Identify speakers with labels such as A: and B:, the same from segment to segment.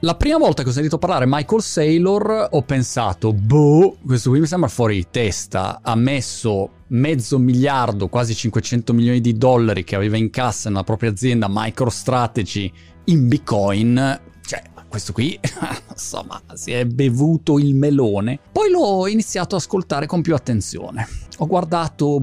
A: La prima volta che ho sentito parlare Michael Saylor ho pensato, questo qui mi sembra fuori di testa, ha messo $500 milioni, quasi $500 milioni che aveva in cassa nella propria azienda MicroStrategy in Bitcoin. Cioè, questo qui, insomma, si è bevuto il melone. Poi l'ho iniziato ad ascoltare con più attenzione. Ho guardato,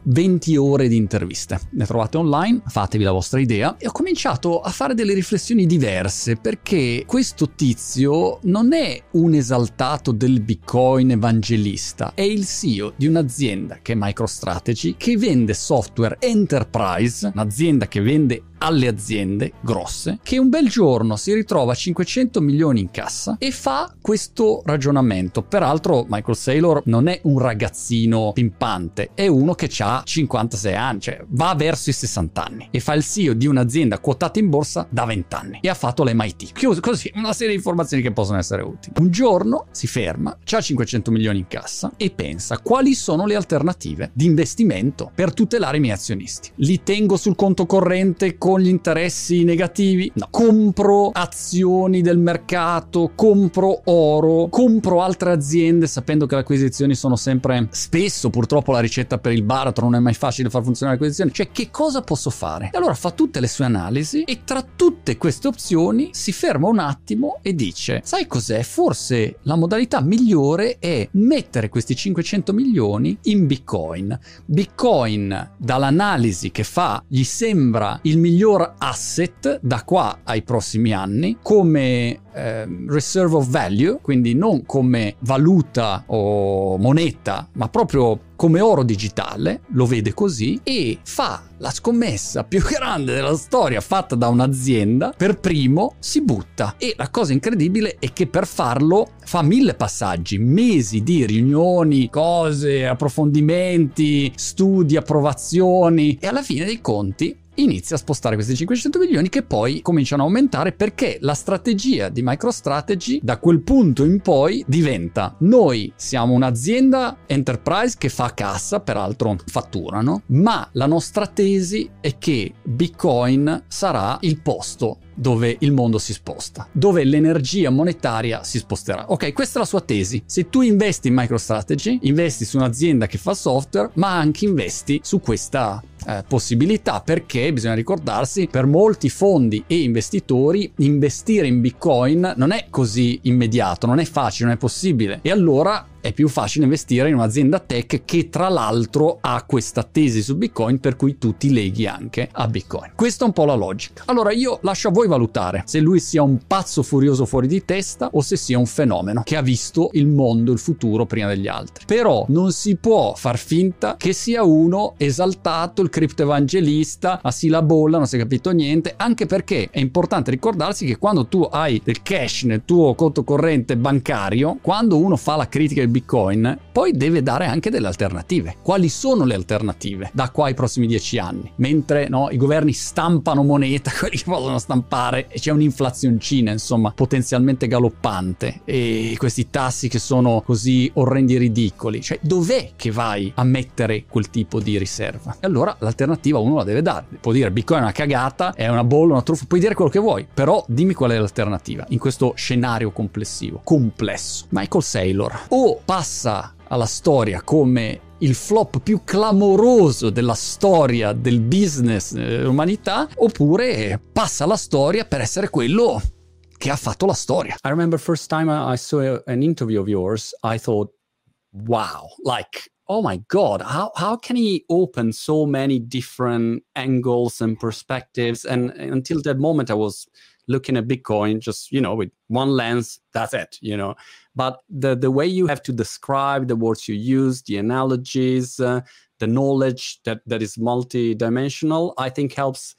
A: 20 ore di interviste. Ne trovate online, fatevi la vostra idea. E ho cominciato a fare delle riflessioni diverse, perché questo tizio non è un esaltato del Bitcoin evangelista. È il CEO di un'azienda che è MicroStrategy, che vende software enterprise, un'azienda che vende alle aziende grosse, che un bel giorno si ritrova 500 milioni in cassa e fa questo ragionamento. Peraltro Michael Saylor non è un ragazzino pimpante, è uno che ha 56 anni, cioè va verso i 60 anni e fa il CEO di un'azienda quotata in borsa da 20 anni e ha fatto l'MIT. Così, una serie di informazioni che possono essere utili. Un giorno si ferma, c'ha 500 milioni in cassa e pensa: quali sono le alternative di investimento per tutelare i miei azionisti? Li tengo sul conto corrente con gli interessi negativi? No. Compro azioni del mercato, compro oro, compro altre aziende sapendo che le acquisizioni sono sempre, spesso purtroppo la ricetta per il baratro, non è mai facile far funzionare le acquisizioni. Cioè, che cosa posso fare? E allora fa tutte le sue analisi e tra tutte queste opzioni si ferma un attimo e dice: sai cos'è? Forse la modalità migliore è mettere questi 500 milioni in Bitcoin. Bitcoin, dall'analisi che fa, gli sembra il miglior asset da qua ai prossimi anni come reserve of value, quindi non come valuta o moneta, ma proprio come oro digitale, lo vede così e fa la scommessa più grande della storia fatta da un'azienda. Per primo si butta, e la cosa incredibile è che per farlo fa 1000 passaggi, mesi di riunioni, cose, approfondimenti, studi, approvazioni, e alla fine dei conti inizia a spostare questi 500 milioni che poi cominciano a aumentare, perché la strategia di MicroStrategy da quel punto in poi diventa: noi siamo un'azienda enterprise che fa cassa, peraltro fatturano, ma la nostra tesi è che Bitcoin sarà il posto dove il mondo si sposta, dove l'energia monetaria si sposterà. Ok, questa è la sua tesi. Se tu investi in MicroStrategy, investi su un'azienda che fa software, ma anche investi su questa possibilità, perché bisogna ricordarsi, per molti fondi e investitori investire in Bitcoin non è così immediato, non è facile, non è possibile, e allora è più facile investire in un'azienda tech che tra l'altro ha questa tesi su Bitcoin, per cui tu ti leghi anche a Bitcoin. Questa è un po' la logica. Allora io lascio a voi valutare se lui sia un pazzo furioso fuori di testa o se sia un fenomeno che ha visto il mondo, il futuro prima degli altri. Però non si può far finta che sia uno esaltato, il criptoevangelista, a sì la bolla, non si è capito niente, anche perché è importante ricordarsi che quando tu hai del cash nel tuo conto corrente bancario, quando uno fa la critica del Bitcoin, poi deve dare anche delle alternative. Quali sono le alternative da qua ai prossimi 10 anni? Mentre i governi stampano moneta, quelli che possono stampare, e c'è un'inflazioncina, insomma, potenzialmente galoppante, e questi tassi che sono così orrendi e ridicoli. Cioè, dov'è che vai a mettere quel tipo di riserva? E allora l'alternativa uno la deve dare. Può dire Bitcoin è una cagata, è una bolla, una truffa, puoi dire quello che vuoi, però dimmi qual è l'alternativa in questo scenario complessivo, complesso. Michael Saylor o passa alla storia come il flop più clamoroso della storia del business dell'umanità, oppure passa alla storia per essere quello che ha fatto la storia. I remember first time I saw an interview of yours, I thought, wow, like, oh my God, how can he open so many different angles and perspectives? And until that moment I was looking at Bitcoin just, with one lens, that's it, But the way you have to describe the words you use, the analogies, the knowledge that is multi-dimensional, I think helps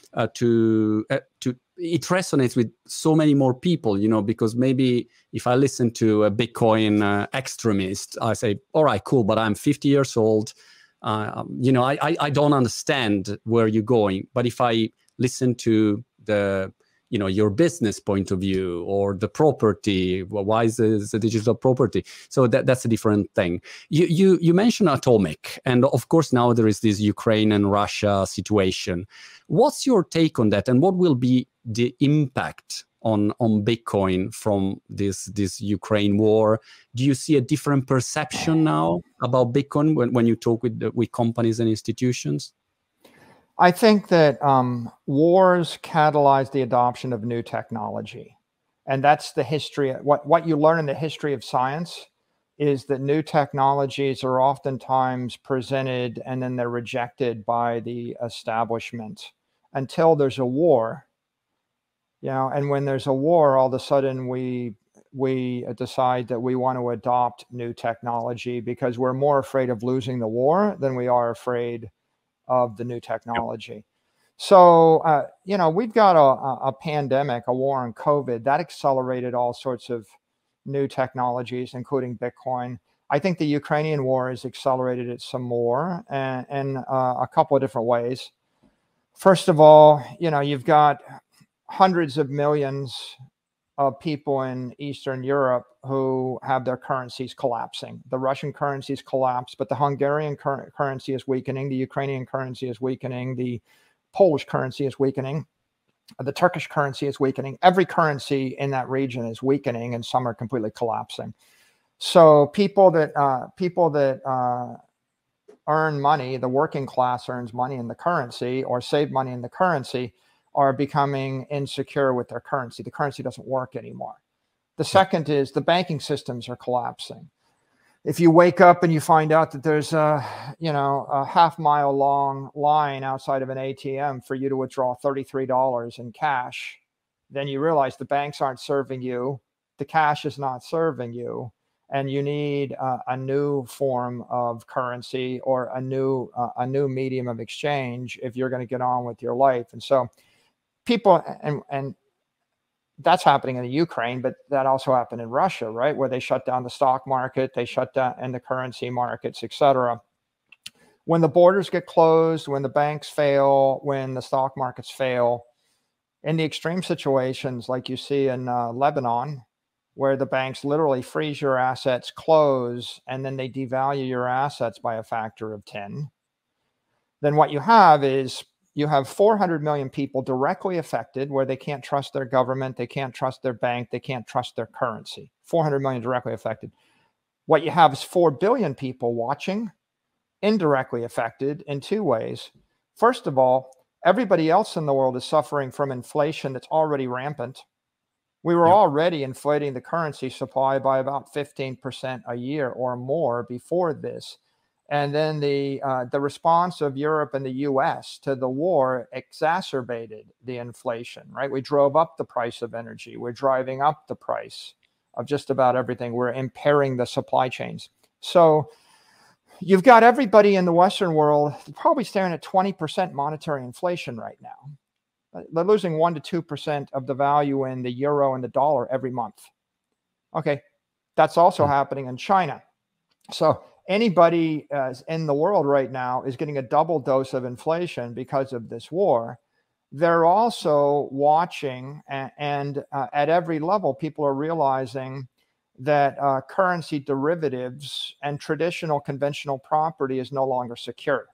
A: it resonates with so many more people, because maybe if I listen to a Bitcoin extremist, I say, all right, cool, but I'm 50 years old. I don't understand where you're going. But if I listen to your business point of view or the property, why is the digital property? So that's a different thing. You mentioned atomic, and of course now there is this Ukraine and Russia situation. What's your take on that, and what will be the impact on Bitcoin from this Ukraine war. Do you see a different perception now about Bitcoin when you talk with companies and institutions?
B: I think that wars catalyze the adoption of new technology. And that's the history. What you learn in the history of science is that new technologies are oftentimes presented and then they're rejected by the establishment until there's a war. And when there's a war, all of a sudden we decide that we want to adopt new technology because we're more afraid of losing the war than we are afraid of the new technology. So, we've got a pandemic, a war on COVID, that accelerated all sorts of new technologies, including Bitcoin. I think the Ukrainian war has accelerated it some more and a couple of different ways. First of all, you've got hundreds of millions of people in Eastern Europe who have their currencies collapsing. The Russian currencies collapsed, but the Hungarian currency is weakening. The Ukrainian currency is weakening. The Polish currency is weakening. The Turkish currency is weakening. Every currency in that region is weakening, and some are completely collapsing. So people that earn money, the working class earns money in the currency or save money in the currency, are becoming insecure with their currency. The currency doesn't work anymore. The second is the banking systems are collapsing. If you wake up and you find out that there's a half-mile long line outside of an ATM for you to withdraw $33 in cash, then you realize the banks aren't serving you, the cash is not serving you, and you need a new form of currency or a new medium of exchange if you're going to get on with your life. And so people, and that's happening in the Ukraine, but that also happened in Russia, right? Where they shut down the stock market, they shut down and the currency markets, etc. When the borders get closed, when the banks fail, when the stock markets fail, in the extreme situations like you see in Lebanon, where the banks literally freeze your assets, close, and then they devalue your assets by a factor of 10, then what you have is you have 400 million people directly affected where they can't trust their government, they can't trust their bank, they can't trust their currency. 400 million directly affected. What you have is 4 billion people watching, indirectly affected in two ways. First of all, everybody else in the world is suffering from inflation that's already rampant. We were already inflating the currency supply by about 15% a year or more before this. And then the response of Europe and the US to the war exacerbated the inflation, right? We drove up the price of energy. We're driving up the price of just about everything. We're impairing the supply chains. So you've got everybody in the Western world probably staring at 20% monetary inflation right now. They're losing 1 to 2% of the value in the euro and the dollar every month. Okay, that's also happening in China. So anybody in the world right now is getting a double dose of inflation because of this war. They're also watching, and at every level, people are realizing that currency derivatives and traditional conventional property is no longer secure.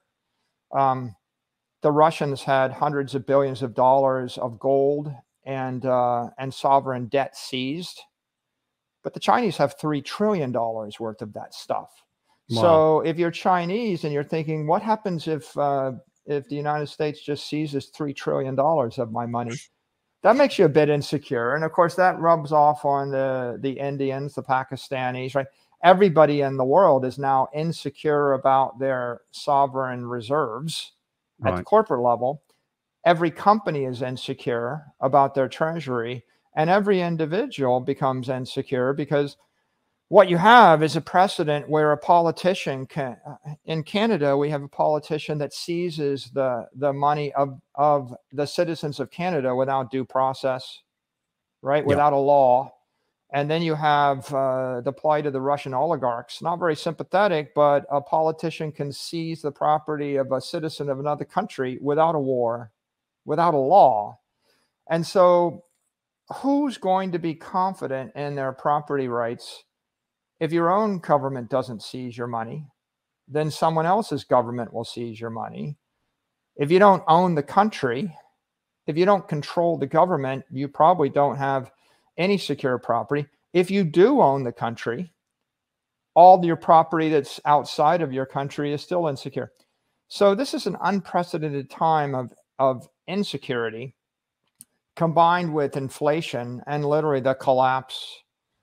B: The Russians had hundreds of billions of dollars of gold and sovereign debt seized, but the Chinese have $3 trillion worth of that stuff. Wow. So if you're Chinese and you're thinking, what happens if the United States just seizes $3 trillion of my money? That makes you a bit insecure. And of course, that rubs off on the Indians, the Pakistanis, right? Everybody in the world is now insecure about their sovereign reserves at the corporate level. Every company is insecure about their treasury, and every individual becomes insecure because what you have is a precedent where a politician can, in Canada, we have a politician that seizes the money of the citizens of Canada without due process, right? Without a law. And then you have the plight of the Russian oligarchs. Not very sympathetic, but a politician can seize the property of a citizen of another country without a war, without a law. And so who's going to be confident in their property rights? If your own government doesn't seize your money, then someone else's government will seize your money. If you don't own the country, If you don't control the government, you probably don't have any secure property. If you do own the country, all your property that's outside of your country is still insecure. So this is an unprecedented time of insecurity combined with inflation and literally the collapse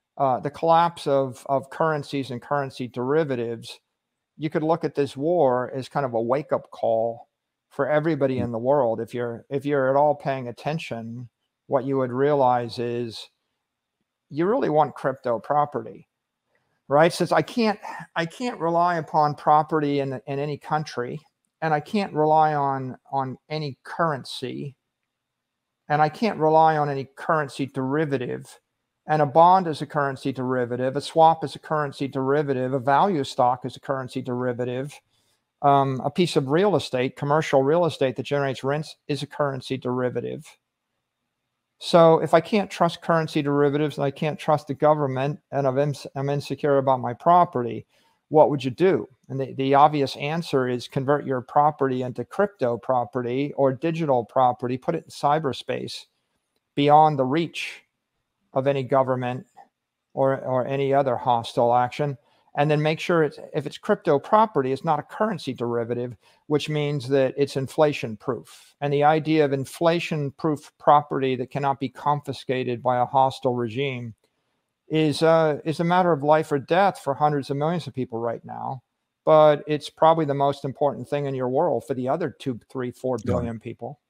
B: of currencies and currency derivatives. You could look at this war as kind of a wake-up call for everybody in the world. If you're at all paying attention, what you would realize is you really want crypto property, right? Since I can't rely upon property in any country, and I can't rely on any currency, and I can't rely on any currency derivative. And a bond is a currency derivative, a swap is a currency derivative, a value stock is a currency derivative, a piece of real estate, commercial real estate that generates rents is a currency derivative. So if I can't trust currency derivatives and I can't trust the government and I'm insecure about my property, what would you do? And the obvious answer is convert your property into crypto property or digital property, put it in cyberspace beyond the reach of any government or any other hostile action. And then make sure if it's crypto property, it's not a currency derivative, which means that it's inflation proof. And the idea of inflation proof property that cannot be confiscated by a hostile regime is a matter of life or death for hundreds of millions of people right now. But it's probably the most important thing in your world for the other 2, 3, 4 billion people.